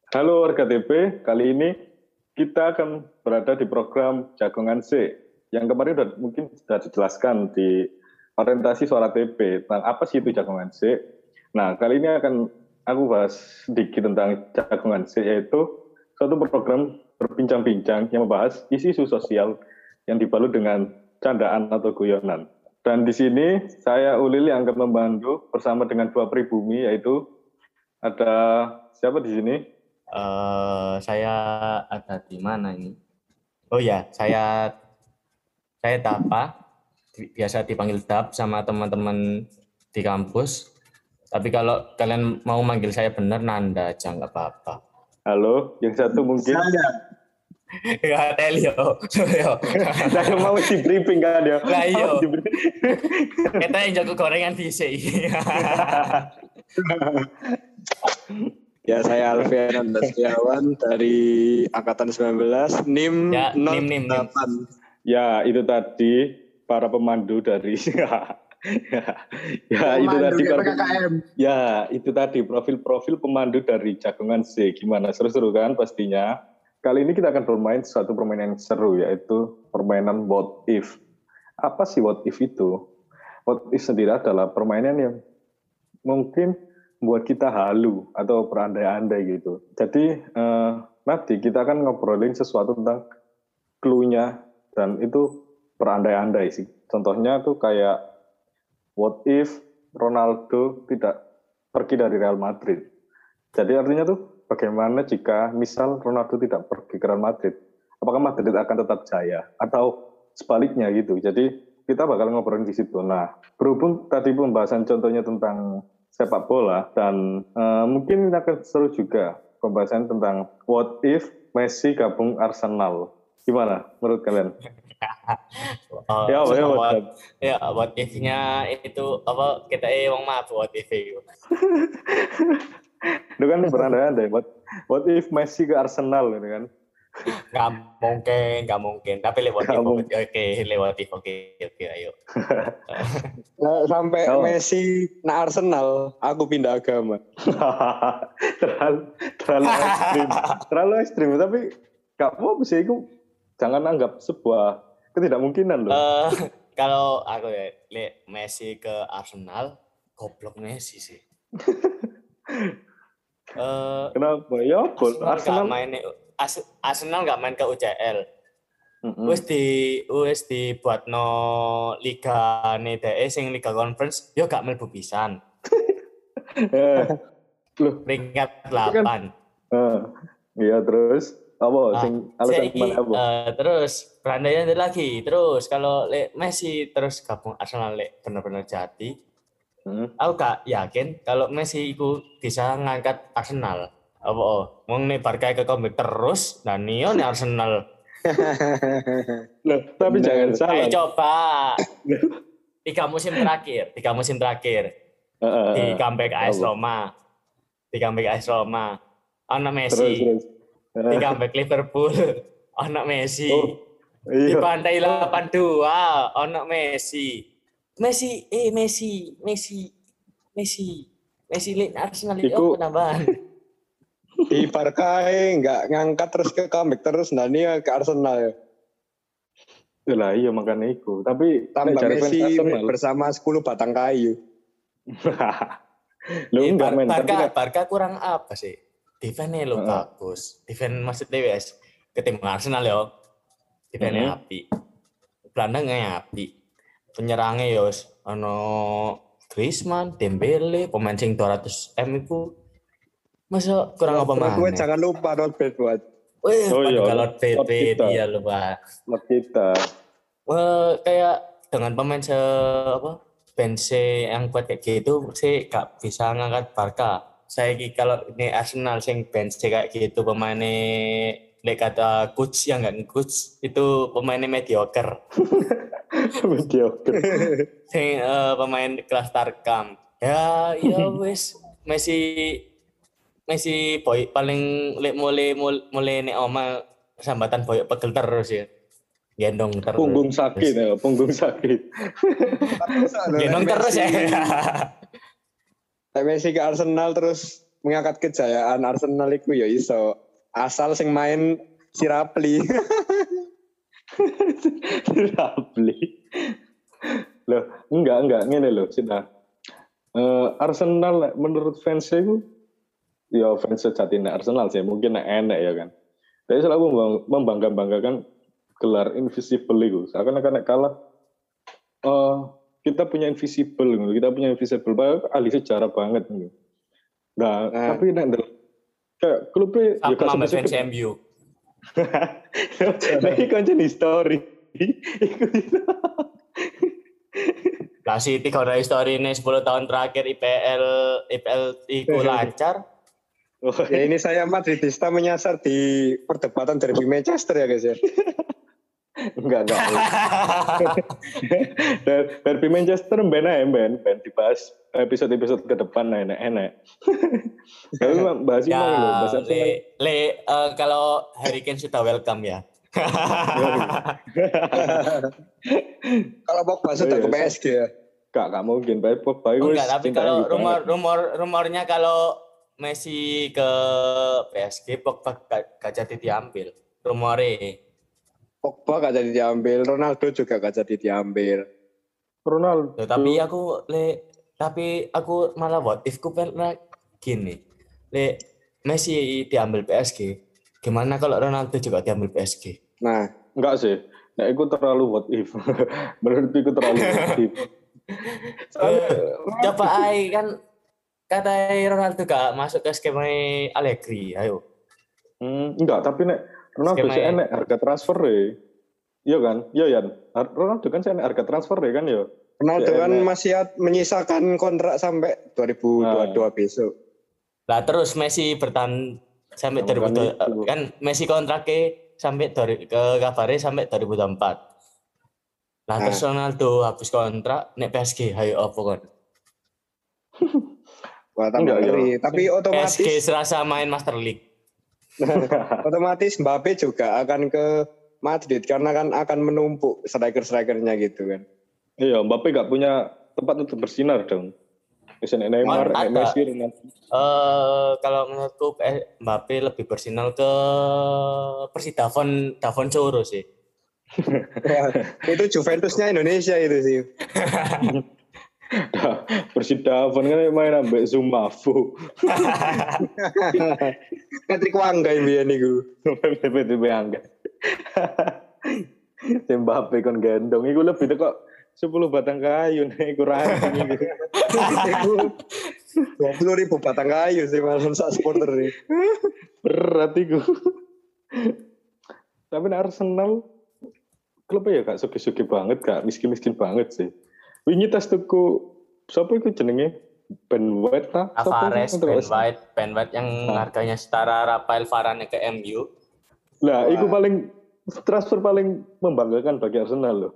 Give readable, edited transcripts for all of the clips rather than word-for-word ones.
Halo warga TP, kali ini kita akan berada di program Jagongan C. Yang kemarin mungkin sudah dijelaskan di orientasi suara TP tentang apa sih itu Jagongan C. Nah, kali ini akan aku bahas sedikit tentang Jagongan C, yaitu suatu program berbincang-bincang yang membahas isu-isu sosial yang dibalut dengan candaan atau guyonan. Dan di sini saya Ulil yang akan membantu bersama dengan dua pribumi, yaitu ada siapa di sini? Saya ada di mana ini? Oh ya, saya Tapa, biasa dipanggil Dap sama teman-teman di kampus. Tapi kalau kalian mau manggil saya benar, Nanda aja, nggak apa-apa. Halo, yang satu mungkin. Ya, Telio. Saya mau di briefing kan ya. Lah iya. Kita yang jago gorengan DC. Ya, saya Alfian Andastiawan dari angkatan 19, NIM ya, 08. Ya, itu tadi para pemandu dari itu tadi PKKM. Ya, itu tadi profil-profil pemandu dari Jagongan C. Gimana? Seru-seru kan pastinya. Kali ini kita akan bermain suatu permainan yang seru, yaitu permainan What If. Apa sih What If itu? What If sendiri adalah permainan yang mungkin buat kita halu atau berandai-andai gitu. Jadi nanti kita akan ngobrolin sesuatu tentang clue-nya dan itu berandai-andai sih. Contohnya tuh kayak what if Ronaldo tidak pergi dari Real Madrid. Jadi artinya tuh bagaimana jika misal Ronaldo tidak pergi ke Real Madrid? Apakah Madrid akan tetap jaya atau sebaliknya gitu. Jadi kita bakal ngobrolin di situ. Nah, berhubung tadi pembahasan contohnya tentang sepak bola dan mungkin akan seru juga pembahasan tentang what if Messi gabung Arsenal. Gimana menurut kalian? What if-nya itu apa kita wong mabuk what if itu. Itu kan berandai-andai. What if Messi ke Arsenal gitu kan? Nggak mungkin. Tapi lewat if, oke, ayo. Nah, sampai Messi na Arsenal, aku pindah agama. terlalu ekstrim. Tapi gak apa sih, itu jangan anggap sebuah ketidakmungkinan loh. Kalau aku Messi ke Arsenal, goblok Messi sih. Kenapa? Ya, Arsenal nggak main ke UCL. Wis dibuatno liga DE sing liga conference yo gak mlebu pisan. Loh, peringkat 8. Iya, terus apa sing alasan mana apa? Terus berandai lagi. Terus kalau Messi terus gabung Arsenal benar-benar jadi. Aku gak yakin kalau Messi itu bisa ngangkat Arsenal. Apa wong nek Barca ke comeback terus dan Nio nek Arsenal. Loh, tapi jangan salah. Ayo coba. 3 musim terakhir di comeback AS Roma. Anak Messi. Terus. Di comeback Liverpool. Anak Messi. Iya. Di pantai 82 anak Messi. Messi Arsenal itu penambahan. Di Barca nggak ngangkat terus ke comeback terus Dania ke Arsenal ya. Itulah iya makanya itu. Tapi tambah Messi bersama 10 batang kayu. Barca kurang apa sih? Defense-nya lo bagus. Defense maksudnya wes ketimbang Arsenal yo. Defense-nya api. Gelandangnya api. Penyerangnya yos Griezmann, Dembele, pemain sing 200 M itu masa kurang apa mana? Jangan lupa not bad buat. Kalau PP dia lupa. Not kita. Kayak dengan pemain bench yang kuat kayak gitu sih gak bisa ngangkat Barca. Saya kalau ini Arsenal sing bench kayak gitu pemainnya kata coach yang enggak coach itu pemainnya mediocre. Sing pemain kelas Tarkam. Ya wis Messi boy paling mulai nek oma sambatan boyok pegel terus ya. Gendong terus. Punggung sakit. Gendong terus ya. Messi ke Arsenal terus mengangkat kejayaan Arsenal iku ya iso. Asal sing main si Rapli. Rapli. Loh, enggak ngene loh, sudah. Arsenal menurut fans itu ya fans sejati Arsenal sih, mungkin enak ya kan. Tapi selalu membanggakan gelar invisible itu. Seakan-akan kalah kita punya invisible, padahal ahli sejarah banget gitu. Nah, tapi kayak klubnya ya sama fans MU. Lagi konten history. Lah City kalau history ini 10 tahun terakhir IPL itu lancar. Ya ini saya Madridista menyasar di perdebatan derby Manchester ya guys ya. Enggak. Derby Manchester ben dibahas episode ke depan enak. Tapi bahas ini loh, bahas kalau Harry Kane sudah welcome ya. Kalau Pogba sudah ke PSG ya. Gak mungkin, Pogba itu. Enggak, tapi kalau rumornya kalau Messi ke PSG, Pogba gak jadi diambil. Rumornya. Pogba gak jadi diambil, Ronaldo juga gak jadi diambil. Ronaldo. Tapi aku malah what if ku pernah gini. Messi diambil PSG. Gimana kalau Ronaldo juga diambil PSG? Nah, enggak sih. Nah, itu terlalu what if. Menurutku itu terlalu what if. Coba kan kata Ronaldo gak masuk ke skema Allegri, ayo. Enggak, tapi Ronaldo sih enak harga transfer ya. Iya kan? Iya Yan. Ronaldo kan sih enak harga transfer ya kan ya. Ronaldo kan masih menyisakan kontrak sampai 2022 besok. Lah terus Messi bertahan sampai 2000 kan Messi kontraknya sampai ke kabarnya sampai 2024. Nah terus Ronaldo habis kontrak nek PSG ayo apa kon? Wah, tapi otomatis PSG serasa main Master League. Otomatis Mbappe juga akan ke Madrid karena kan akan menumpuk striker-strikernya gitu kan. Iya, Mbappe gak punya tempat untuk bersinar dong. Misalnya Neymar, Messi, Ronaldo. Kalau menurutku Mbappe lebih bersinar ke Davon Choro sih. Itu Juventusnya Indonesia itu sih. Davon kan main ambek Zumafu. Patrick Wangga yang biar niku. Patrick Wangga. Mbappe kon gendong iku lebih kok 10 batang kayu nek kurang iku. 20.000 batang kayu sih malam sak supporter ini. Berat iku. Tapi Arsenal klubnya ya gak suki-suki banget, gak miskin-miskin banget sih. Wingi tas tuku siapa itu jenenge? Ben White ta? Ben White yang harganya setara Rafael Varane ke MU. Lah, itu transfer paling membanggakan bagi Arsenal loh.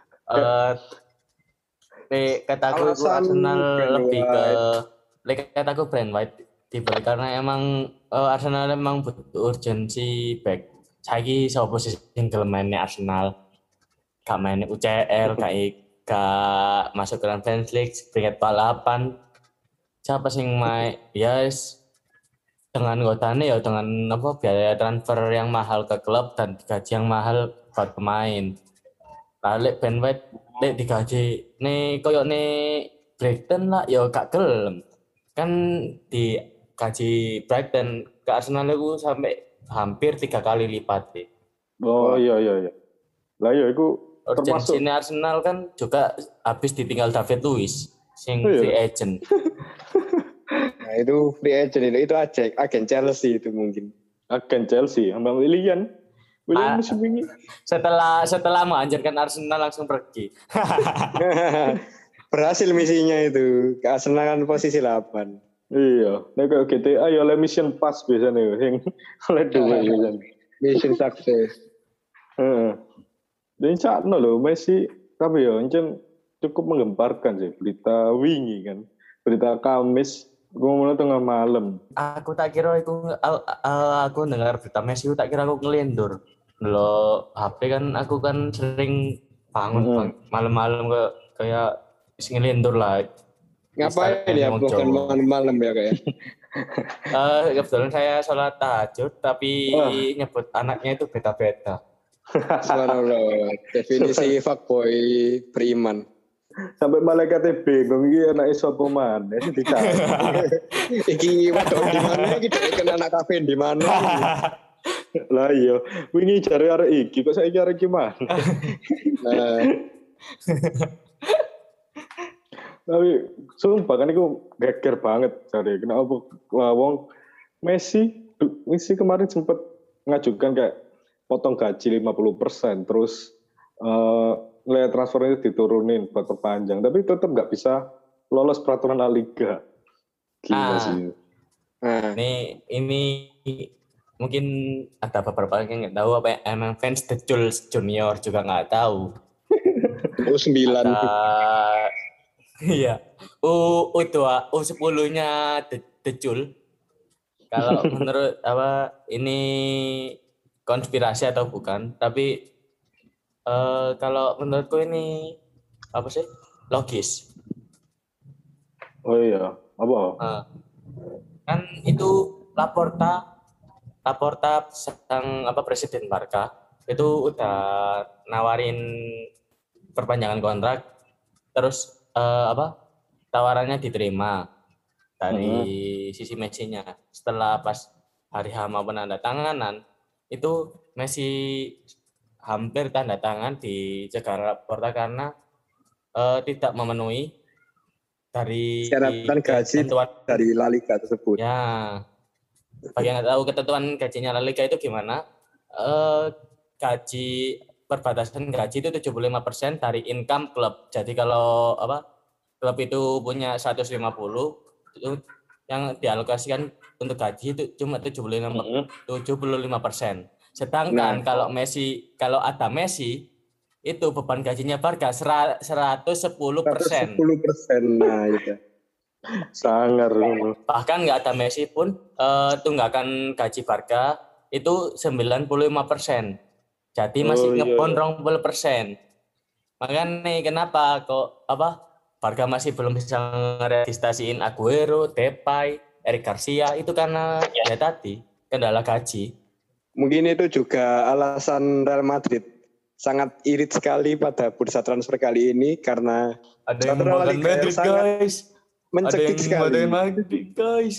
Kataku Arsenal lebih ke kataku Ben White dibeli karena emang Arsenal emang butuh urgensi back. Saiki sapa sing gelem mainnya Arsenal? Gak main UCL, gak masuk ke Champions League, peringkat balapan. Siapa sing main? Yes, dengan gotane ya dengan biaya transfer yang mahal ke klub dan gaji yang mahal buat pemain. Lalu Ben White digaji nih koyo nih Brighton lah, ya gak gelem. Kan di gaji Brighton ke Arsenal itu sampai hampir 3 kali lipat sih. Oh iya. Lah ya itu urgensi Arsenal kan juga habis ditinggal David Luiz sing free agent. Nah itu free agent itu agen Chelsea itu mungkin. Agen Chelsea sama Willian musim ini. Setelah menghancurkan Arsenal langsung pergi. Berhasil misinya itu. Ke Arsenal kan posisi 8. Iya, nek kayak GTA ya oleh mission pass biasanya yang oleh dua biasanya. Mission success. Dan sakno loh Messi tapi ya encen cukup menggemparkan sih berita wingi kan. Berita Kamis ngomongnya tengah malam. Aku tak kira aku dengar berita Messi tak kira aku ngelindur. Lo HP kan aku kan sering bangun malam-malam kayak ngelindur lah. Ngapain ya bukan malam-malam ya kayak? Kebetulan saya sholat tahajud, tapi Wah. nyebut anaknya itu beta-beta. Subhanallah. Definisi fuckboy beriman. Sampai malaikatnya bingung iki anake sapa maneh sing dicari. Iki wedok di mana? Iki dhek kenal anak kafe di mana? Lah iya, wingi jare arek iki kok saiki arek iki mana? Nah, Tapi sumpah kan iku geger banget jare. Kenapa wong Messi kemarin sempat ngajukan kayak potong gaji 50%, terus nilai transfernya diturunin buat perpanjang, tapi tetap nggak bisa lolos peraturan La Liga. Gila sih. nah, Ini mungkin ada beberapa yang nggak tahu apa ya, emang fans The Jules Junior juga nggak tahu. U9. Iya. U10-nya The Jul. Kalau menurut apa ini konspirasi atau bukan, tapi kalau menurutku ini apa sih? Logis. Oh iya, apa? Kan itu Laporta sang presiden Barca itu udah nawarin perpanjangan kontrak, terus tawarannya diterima dari sisi Messi-nya. Setelah pas hari H mau penandatanganan itu Messi hampir tanda tangan di Jakarta karena tidak memenuhi dari Syaratan gaji ketentuan dari La Liga tersebut. ya. Bagi yang nggak tahu ketentuan gajinya La Liga itu gimana? Gaji perbatasan gaji itu 75% dari income klub. Jadi kalau klub itu punya 150 itu yang dialokasikan untuk gaji itu cuma 75%. Sedangkan kalau ada Messi itu beban gajinya Barca 110%. 110%. Nah, itu. Sangar. Bahkan nggak ada Messi pun tunggakan gaji Barca itu 95%. Jadi masih ngepon 20%. Makanya kenapa kok Barca masih belum bisa meregistrasiin Aguero, Depay, Eric Garcia itu karena ya tadi kendala gaji. Mungkin itu juga alasan Real Madrid sangat irit sekali pada bursa transfer kali ini karena ada yang makan Madrid guys. Mencekik sekali. Ada yang Madrid guys.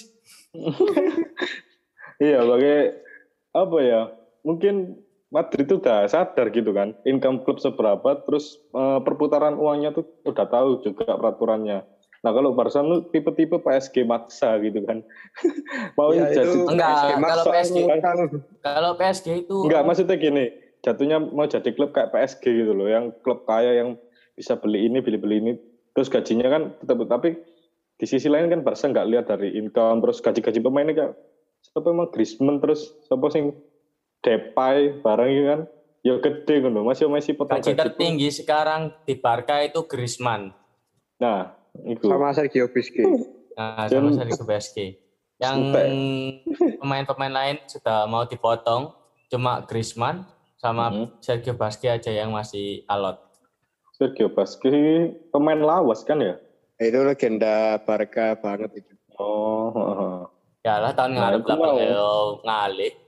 Iya, apa ya? Mungkin Madrid itu udah sadar gitu kan, income klub seberapa, terus perputaran uangnya tuh udah tahu juga peraturannya. Nah kalau Barca tuh tipe-tipe PSG maksa gitu kan, mau ya, jadi enggak. Kalau PSG itu enggak, maksudnya gini, jatuhnya mau jadi klub kayak PSG gitu loh, yang klub kaya yang bisa beli ini, terus gajinya kan tetap, tapi di sisi lain kan Barca nggak lihat dari income, terus gaji pemainnya kayak siapa emang Griezmann, terus siapa sing Depay barang gitu kan, ya gede kan loh, masih potong gaji tertinggi sekarang di Barca itu Griezmann. Nah, itu. Sama Sergio Busquets. Sama Sergio Busquets. Yang pemain-pemain lain sudah mau dipotong, cuma Griezmann sama Sergio Busquets aja yang masih alot. Sergio Busquets pemain lawas kan ya? Itu legenda Barca banget itu. Oh. Ya lah tahun ngarep lah ngalih.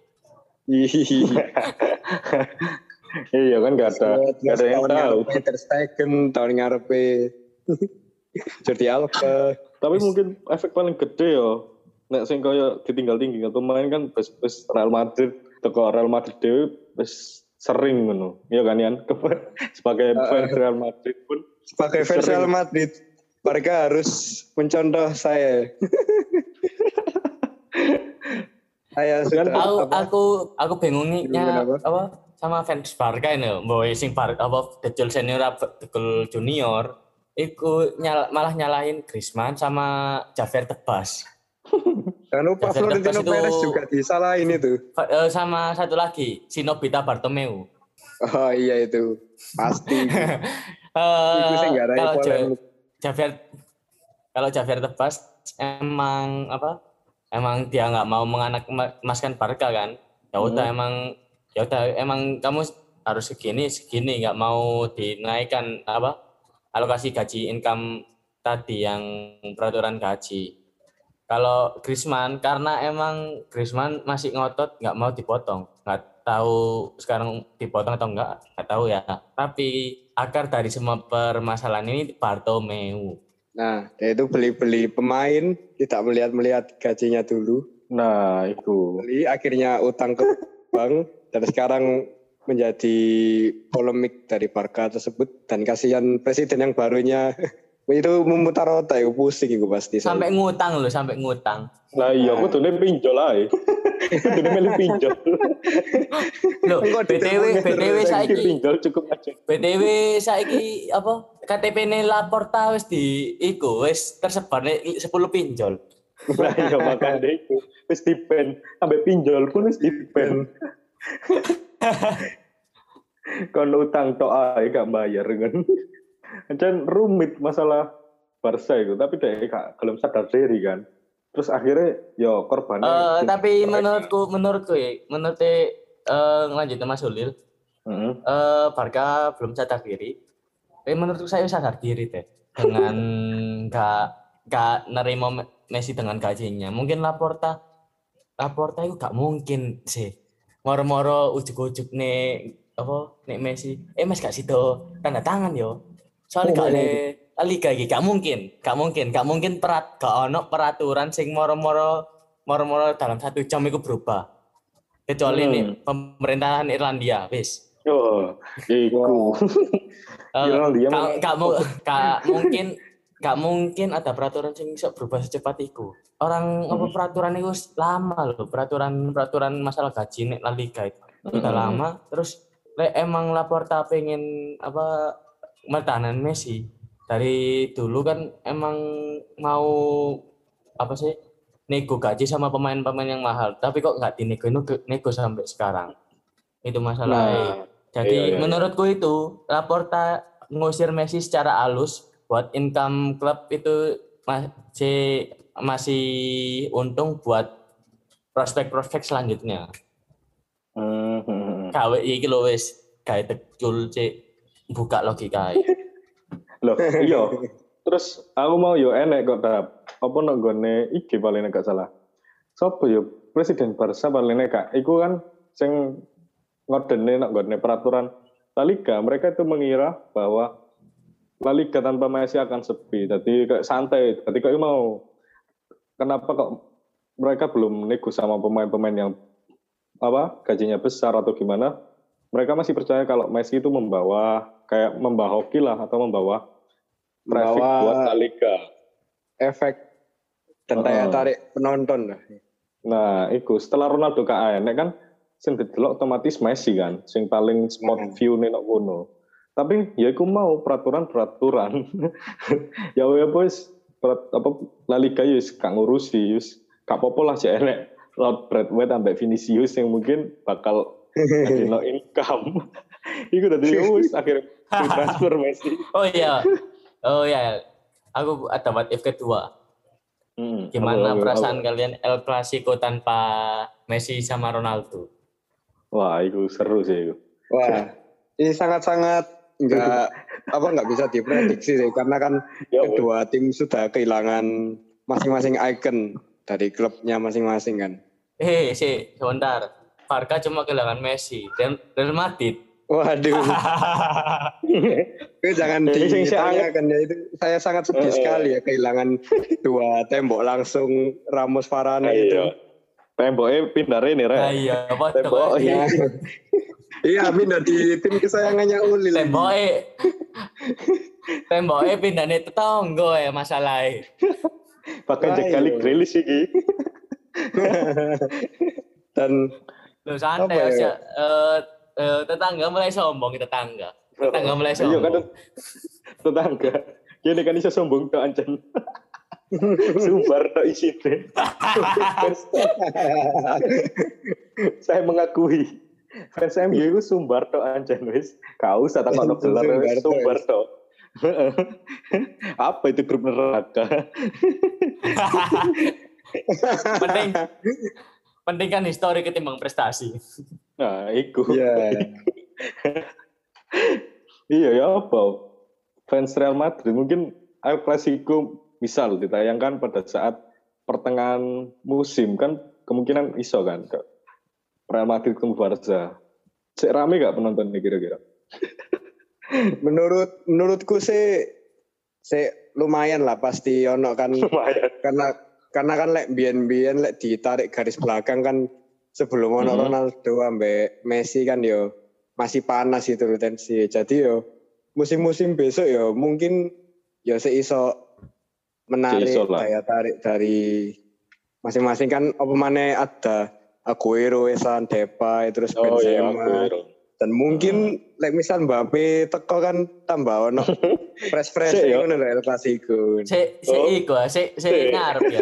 Iya kan nggak ada yang tahu. Ter Stegen tahun ngarepe Jordi Alba. Tapi mungkin efek paling gede yo. Nek sing kaya ditinggal pemain kan bes Real Madrid, teko Real Madrid dhewe wis sering ngono. Iya kan Yan? Sebagai fans Real Madrid pun sebagai fans Real Madrid, Barca harus mencontoh saya. Saya sudah aku bingungnya sama fans Barca ini mbok sing Decul senior Decul junior iku malah nyalahin Griezmann sama Javier Tebas. Jangan lupa Florentino Perez juga disalahin itu. Sama satu lagi si Nobita Bartomeu. Oh iya itu pasti. Kalau Javier Tebas emang dia nggak mau emaskan Barca kan, ya udah emang kamu harus segini nggak mau dinaikkan alokasi gaji income tadi yang peraturan gaji. Kalau Griezmann karena emang Griezmann masih ngotot nggak mau dipotong. Nggak tahu sekarang dipotong atau nggak tahu ya. Tapi akar dari semua permasalahan ini Bartomeu. Nah, dia itu beli-beli pemain, tidak melihat gajinya dulu. Nah, itu. Beli, akhirnya utang ke bank, dan sekarang menjadi polemik dari Barca tersebut. Dan kasihan presiden yang barunya itu memutar otak, pusing itu pasti. Sampai ngutang loh, sampai ngutang. Nah iya, aku tuh pinjol aja. Aku tuh milih pinjol. Loh, BTW saiki pinjol cukup aja. BTW saiki apa? KTP-ne Laporta wis wis tersebar 10 pinjol. Nah iya makanya itu wis dipen, sampai pinjol pun wis dipen. Kon utang tok ae gak bayar kan. Kan rumit masalah Barca itu, tapi dia gak belum sadar diri kan. Terus akhirnya yo korbannya. Tapi menurut lanjut Mas Ulil. Barca belum sadar diri. Menurutku saya sadar diri deh dengan gak nerima Messi dengan gajinya. Mungkin Laporta itu gak mungkin sih. Moro-moro ujuk-ujuk nih Messi. Mas gak sido tanda tangan yo. Soalnya gak ada liga iki gak mungkin gak ono peraturan sing moro-moro dalam 1 jam itu berubah. Kecuali nih pemerintahan Irlandia wis. Oh, iku. Irlandia gak mungkin ada peraturan yang bisa berubah secepat itu. Peraturan itu lama loh, peraturan masalah gaji nek La Liga itu. Udah lama, terus emang Laporta pengen pertahanan Messi. Dari dulu kan emang mau nego gaji sama pemain-pemain yang mahal, tapi kok nggak nego sampai sekarang. Itu masalahnya. Jadi menurutku itu Laporta ngusir Messi secara halus buat income klub itu masih untung buat prospek-prospek selanjutnya. Gawe iki lho wis gawe tekul buka logika. Loh, iya. Terus aku mau yo enek kok apa nek gone iki paling gak salah. Sopo yo presiden Barca paling nek iku kan sing ngodene nek gone peraturan La Liga. Mereka itu mengira bahwa La Liga tanpa Messi akan sepi. Jadi kayak santai. Jadi kok mau kenapa kok mereka belum nego sama pemain-pemain yang gajinya besar atau gimana? Mereka masih percaya kalau Messi itu membawa hoki lah atau membawa traffic buat La Liga. Efek dan daya tarik penonton lah. Nah, itu setelah Ronaldo kan sing didelok otomatis Messi kan, sing paling spot view nek ngono. Tapi ya iku mau peraturan. Ya wis La Liga wis gak ngurusi, wis gak apa-apa lah sih enek Lord Braithwaite sampai Vinicius yang mungkin bakal no income. Iku dadi wis akhirnya transfer Messi. Oh iya. Aku ada what if kedua. Gimana perasaan kalian El Clasico tanpa Messi sama Ronaldo? Wah, itu seru sih itu. Wah, ini sangat-sangat nggak bisa diprediksi sih, karena kan kedua tim sudah kehilangan masing-masing ikon dari klubnya masing-masing kan. Sebentar. Barca cuma kehilangan Messi dan Real Madrid. Waduh. Itu jangan ditanyakan ya, itu saya sangat sedih sekali ya kehilangan 2 tembok langsung Ramos Varane itu. Temboknya pindah ini, Rek. Iya, betul. Iya, pindah di tim kesayangannya Ulil. Temboknya pindahnya tetangga ya masalahnya. Bahkan sekali Grealish iki. Dan lu santai aja. Tetangga mulai sombong tetangga. Iya kan tetangga. Gini kan bisa sombong tuh anjen. Sumbar tok isine. Saya mengakui fans MU itu sumbar tok anjen wis. Kau usah takon gelar sumbar tok. Apa itu grup neraka? penting kan histori ketimbang prestasi. Nah, iku. Iya ya apa? Fans Real Madrid mungkin El Clasico misal ditayangkan pada saat pertengahan musim kan kemungkinan iso kan ke Real Madrid ketemu Barca. Cek rame gak penonton nih kira-kira? Menurutku sih lumayan lah pasti ono kan. Lumayan. Karena kan lek biyen lek ditarik garis belakang kan sebelum ono Ronaldo ambek Messi kan yo masih panas itu tensi. Jadi yo musim-musim besok yo mungkin yo seiso menarik daya tarik dari masing-masing kan apa maneh ada Aguero, Esan, Depay, terus Benzema. Dan mungkin lek misal Mbappe teko kan tambah ono fresh ngono lho El Clasico. Sik ngarep ya.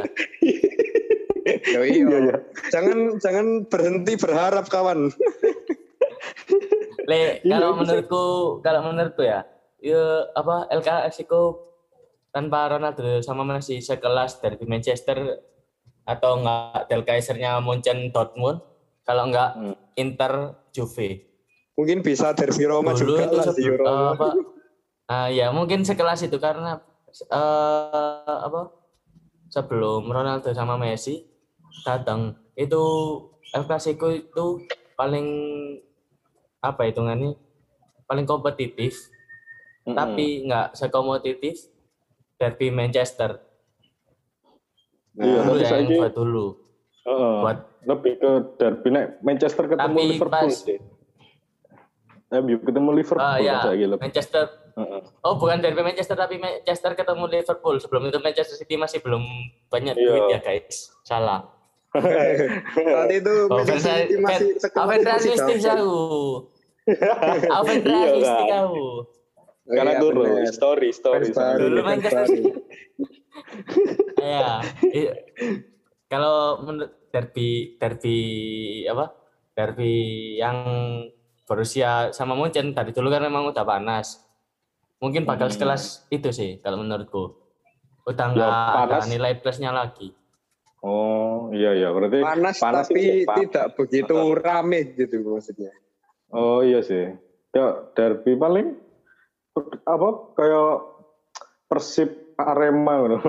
Iya. Jangan berhenti berharap kawan. Kalau menurutku ya apa El Clasico tanpa Ronaldo sama Messi sekelas dari Manchester atau enggak Del Kaisernya Munchen Dortmund, kalau enggak Inter Juve. Mungkin bisa derby Roma dulu juga lah di Roma. Ya mungkin sekelas itu karena sebelum Ronaldo sama Messi datang itu El Clasico itu paling hitungannya paling kompetitif, tapi enggak sekompetitif derby Manchester. Iya, dulu ya yang buat dulu. Buat lebih ke derby Manchester ketemu Liverpool sih. Ketemu Liverpool Manchester. Bukan derby Manchester tapi Manchester ketemu Liverpool. Sebelum itu Manchester City masih belum banyak duit ya guys. Salah. Saat itu Manchester City masih Aven realistik jauh. Aven realistik jauh. Karena dulu story. Dulu Manchester City. Ya. Kalau menurut derby yang Borussia sama Munchen dari dulu kan memang udah panas. Mungkin bakal sekelas itu sih kalau menurutku. Udah nggak ada nilai plusnya lagi. Oh iya berarti panas tapi tidak begitu rame gitu maksudnya. Oh iya sih. Ya derby paling kayak Persib Arema ngono.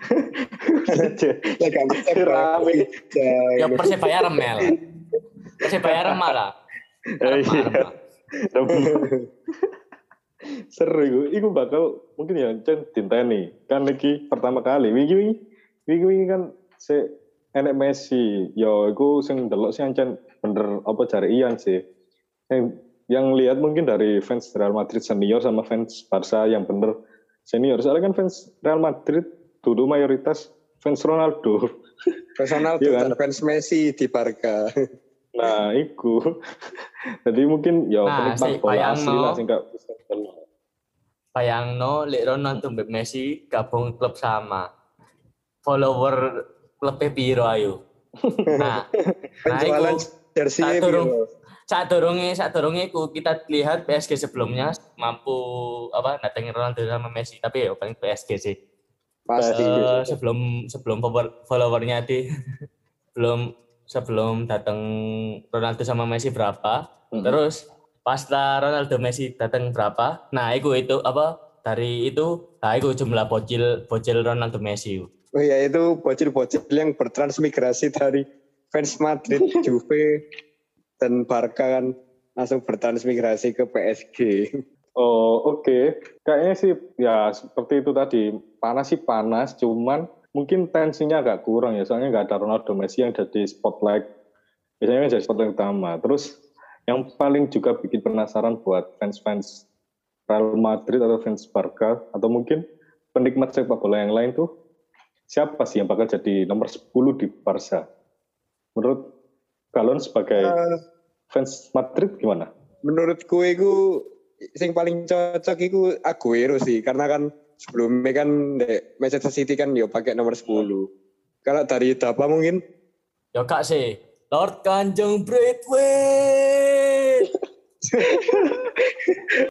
Rame. Ya Persebaya Remel. Persebaya Remel lah. Iya. Seru iku bakal mungkin ya dinteni. Kan iki pertama kali wingi kan enek Messi. Yo iku sing delok sih ancen bener apa jare Ian sih. Yang lihat mungkin dari fans Real Madrid senior sama fans Barca yang bener senior. Soalnya kan fans Real Madrid dulu mayoritas fans Ronaldo. Fans Ronaldo kan? Fans Messi di Barca. Nah, iku. Jadi mungkin ya penikmat bola asli lah sing gak bisa kenal. Bayangno lek Ronaldo mbek Messi gabung klub sama. Follower klubnya piro ayo. Nah, penjualan jersey piro? Saat-durunge kita lihat PSG sebelumnya mampu datengin Ronaldo sama Messi, tapi ya paling PSG sih. Pasti. Sebelum followernya sebelum datang Ronaldo sama Messi berapa, terus pas Ronaldo Messi datang berapa, itu jumlah bocil Ronaldo Messi. Oh iya, itu bocil-bocil yang bertransmigrasi dari fans Madrid, Juve dan Barca kan langsung bertransmigrasi ke PSG. Oh oke. Kayaknya sih ya seperti itu tadi. Panas, cuman mungkin tensinya agak kurang ya. Soalnya nggak ada Ronaldo Messi yang jadi spotlight. Biasanya jadi spotlight utama. Terus yang paling juga bikin penasaran buat fans-fans Real Madrid atau fans Barca atau mungkin penikmat sepak bola yang lain tuh siapa sih yang bakal jadi nomor 10 di Barca? Menurut Galon sebagai fans Madrid gimana? Menurutku itu yang paling cocok itu Aguero sih, karena kan sebelumnya kan Manchester City kan pakai nomor 10. Kalau dari Dapa mungkin? Ya kak sih, Lord Kanjeng Braithwaite.